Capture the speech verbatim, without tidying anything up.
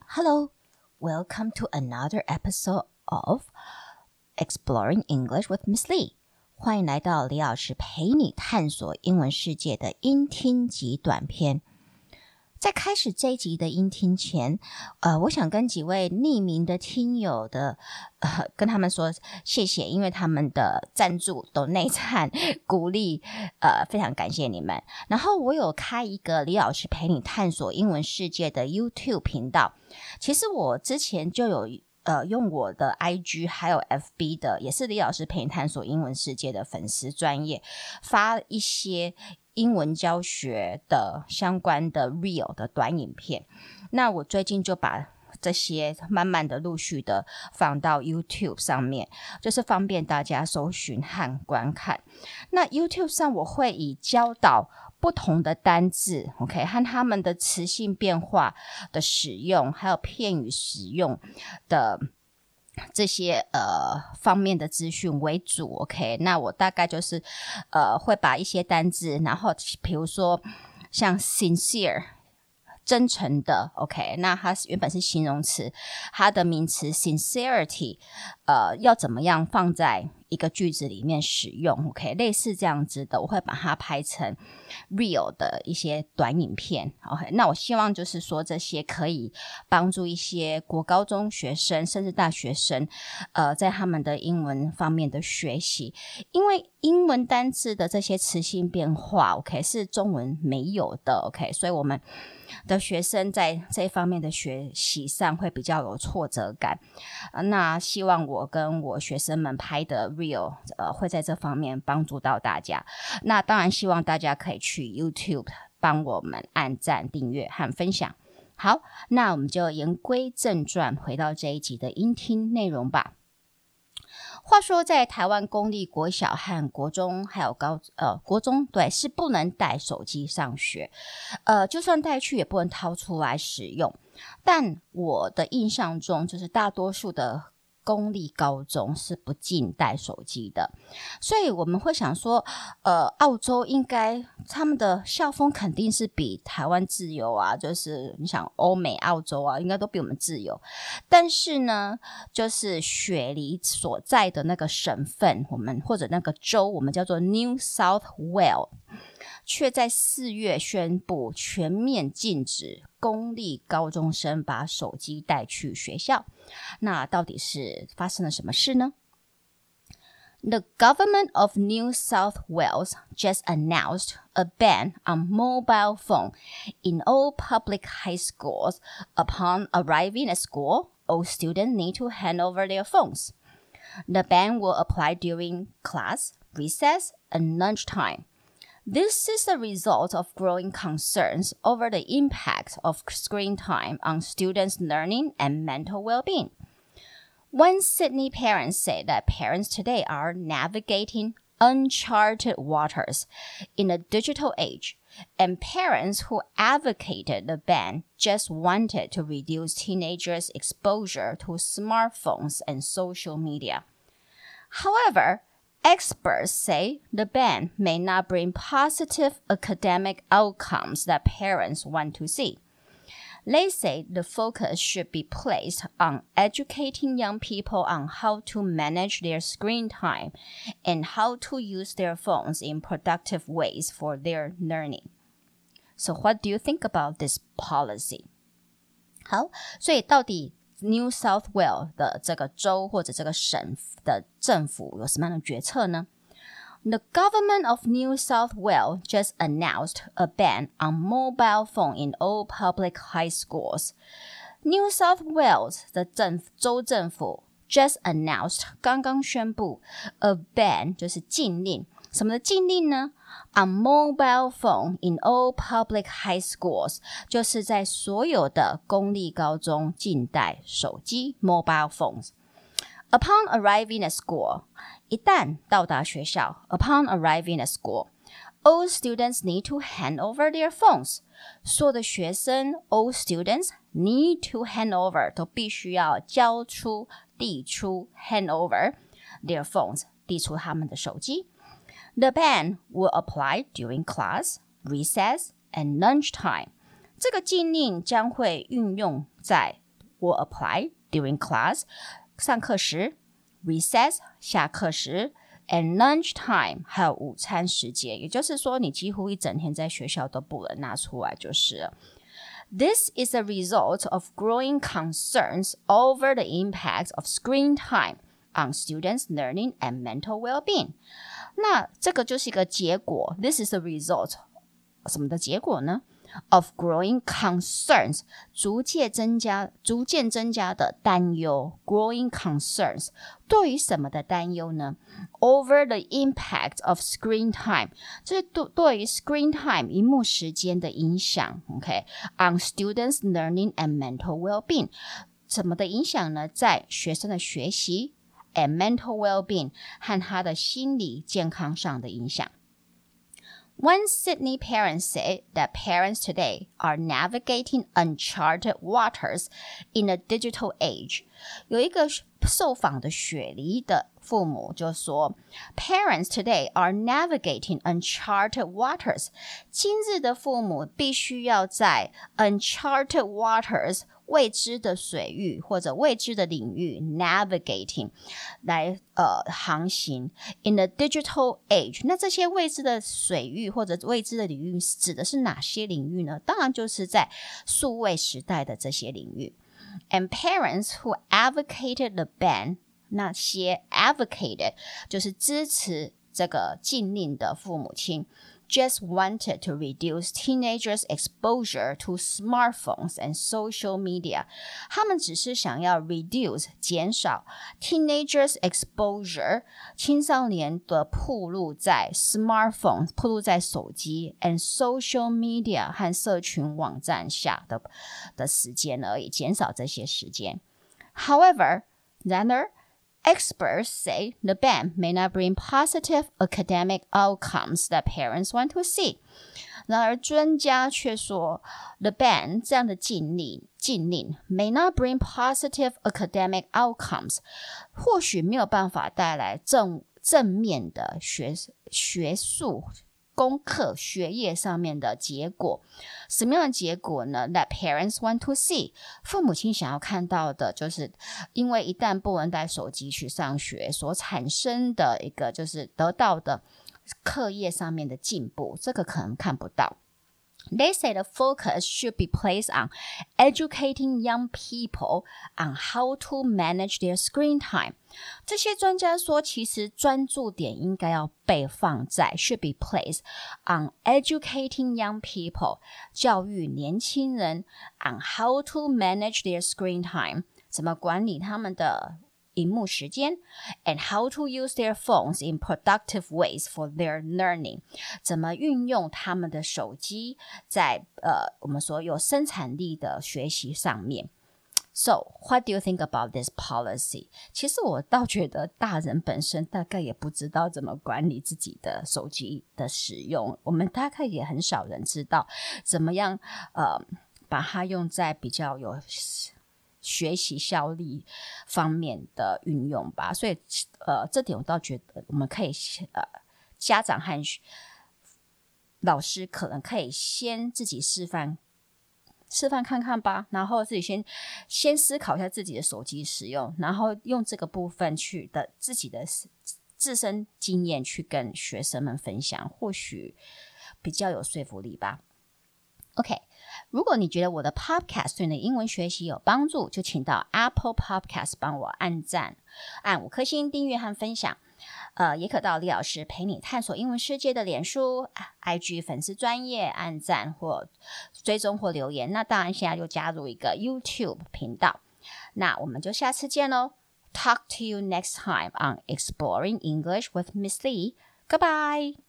Hello, welcome to another episode of Exploring English with Miss Lee. 歡迎來到李老師陪你探索英文世界的英聽及短篇。在開始這一集的英聽前，呃，我想跟幾位匿名的聽友的，呃，跟他們說謝謝，因為他們的贊助、donate和鼓勵，呃，非常感謝你們。然後我有開一個李老師陪你探索英文世界的 YouTube 頻道，其實我之前就有。呃，用我的 I G 還有 F B 的，也是李老師陪你探索英文世界的粉絲專頁，發一些英文教學的相關的 Reel 的短影片。那我最近就把這些慢慢的陸續的放到 YouTube 上面，就是方便大家搜尋和觀看。那 YouTube 上我會以教導不同的單字 OK 和他們的詞性變化的使用，還有片語使用的這些呃方面的資訊為主 OK。 那我大概就是呃會把一些單字，然後比如說像 sincere 真誠的 OK， 那它原本是形容詞，它的名詞 sincerity 呃要怎麼樣放在一個句子裡面使用 OK， 類似這樣子的，我會把它拍成 real 的一些短影片 OK。 那我希望就是說這些可以幫助一些國高中學生甚至大學生呃在他們的英文方面的學習，因為英文單字的這些詞性變化 OK 是中文沒有的 OK， 所以我們的學生在這一方面的學習上會比較有挫折感，呃、那希望我跟我學生們拍的 Real 呃會在這方面幫助到大家。那當然希望大家可以去 YouTube 幫我們按讚、訂閱和分享。好，那我們就言歸正傳，回到這一集的英聽內容吧。話說在台灣公立國小和國中還有高呃國中對是不能帶手機上學，呃就算帶去也不能掏出來使用。但我的印象中就是大多數的公立高中是不禁帶手機的，所以我們會想說呃澳洲應該他們的校風肯定是比台灣自由啊，就是你想歐美澳洲啊應該都比我們自由。但是呢就是雪梨所在的那個省份我們或者那個州我們叫做 New South Wales， 卻在四月宣布全面禁止公立高中生把手機帶去學校。那到底是發生了什麼事呢？ The government of New South Wales just announced a ban on mobile phone in all public high schools. Upon arriving at school, all students need to hand over their phones. The ban will apply during class, recess, and lunchtime.This is the result of growing concerns over the impact of screen time on students' learning and mental well-being. One Sydney parent said that parents today are navigating uncharted waters in a digital age, and parents who advocated the ban just wanted to reduce teenagers' exposure to smartphones and social media. However,Experts say the ban may not bring positive academic outcomes that parents want to see. They say the focus should be placed on educating young people on how to manage their screen time and how to use their phones in productive ways for their learning. So what do you think about this policy? 好，所以到底New South Wales 的這個州或者這個省的政府有什麼樣的決策呢？ The government of New South Wales just announced a ban on mobile phone in all public high schools. New South Wales 的政府州政府 just announced 剛剛宣布 a ban 就是禁令，什麼的禁令呢？ On mobile phone in all public high schools 就是在所有的公立高中禁帶手機 mobile phones. Upon arriving at school 一旦到達學校 Upon arriving at school all students need to hand over their phones. 所有的學生 all students need to hand over 都必須要交出遞出 hand over their phones 遞出他們的手機。The ban will apply during class, recess, and lunchtime. 這個禁令將會運用在 will apply during class 上課時 recess 下課時 and lunch time 還有午餐時間，也就是說你幾乎一整天在學校都不能拿出來就是了。This is a result of growing concerns over the impact of screen time on students' learning and mental well-being. 那這個就是一個結果 This is a result 什麼的結果呢？Of growing concerns 逐漸增加逐漸增加的擔憂 growing concerns 對於什麼的擔憂呢 Over the impact of screen time 就是對對於 screen time 螢幕時間的影響 OK on students learning and mental well-being 什麼的影響呢在學生的學習 and mental well-being 和他的心理健康上的影響One Sydney parent said that parents today are navigating uncharted waters in a digital age. 有一個受訪的雪梨的父母就說 Parents today are navigating uncharted waters. 今日的父母必須要在 uncharted waters未知的水域或者未知的領域 navigating 來呃航行 in a digital age 那這些未知的水域或者未知的領域指的是哪些領域呢？當然就是在數位時代的這些領域 and parents who advocated the ban 那些 advocated 就是支持這個禁令的父母親just wanted to reduce teenagers' exposure to smartphones and social media. 他們只是想要 reduce 減少 teenagers' exposure 青少年的暴露在 smartphone 暴露在手機 and social media 和社群網站下的的時間而已，減少這些時間。However, 然而Experts say the ban may not bring positive academic outcomes that parents want to see. 然而專家卻說 the ban 這樣的禁令禁令 may not bring positive academic outcomes 或許沒有辦法帶來正正面的學學術功課學業上面的結果。什麼樣的結果呢？ That parents want to see 父母親想要看到的就是因為一旦不能帶手機去上學所產生的一個就是得到的課業上面的進步，這個可能看不到。They say the focus should be placed on educating young people on how to manage their screen time. 這些專家說，其實專注點應該要被放在 should be placed on educating young people, 教育年輕人 on how to manage their screen time, 怎麼管理他們的螢幕時間 and how to use their phones in productive ways for their learning 怎麼運用他們的手機在呃我們說有生產力的學習上面 So what do you think about this policy 其實我倒覺得大人本身大概也不知道怎麼管理自己的手機的使用我們大概也很少人知道怎麼樣呃把它用在比較有學習效率方面的運用吧，所以呃，這點我倒覺得我們可以呃，家長和老師可能可以先自己示範示範看看吧，然後自己先先思考一下自己的手機使用，然後用這個部分去的自己的自身經驗去跟學生們分享，或許比較有說服力吧。OK， 如果你覺得我的 Podcast 對你的英文學習有幫助，就請到 Apple Podcast 幫我按讚，按五顆星訂閱和分享。呃，也可到李老師陪你探索英文世界的臉書、I G 粉絲專頁按讚或追蹤或留言。那當然，現在又加入一個 YouTube 頻道。那我們就下次見嘍。Talk to you next time on Exploring English with Miss Lee. Goodbye.